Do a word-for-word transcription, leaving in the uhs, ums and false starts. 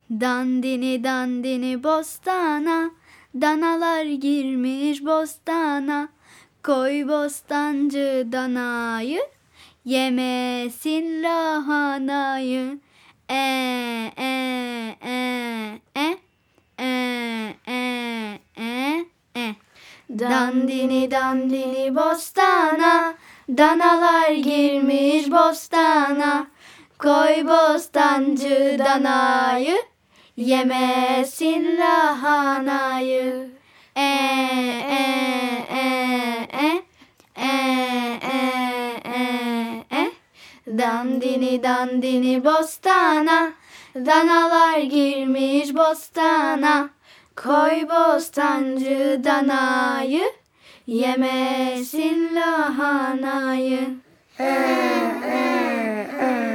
Dandini dandini bostana, danalar girmiş bostana. Koy bostancı danayı, yemesin lahanayı. E e e e e e e e. Dandini dandini bostana, danalar girmiş bostana. Koy bostancı danayı, yemesin lahanayı. E e e e e e e e. Dandini dandini bostana, danalar girmiş bostana. Koy bostancı danayı, yemesin lahanayı. E e e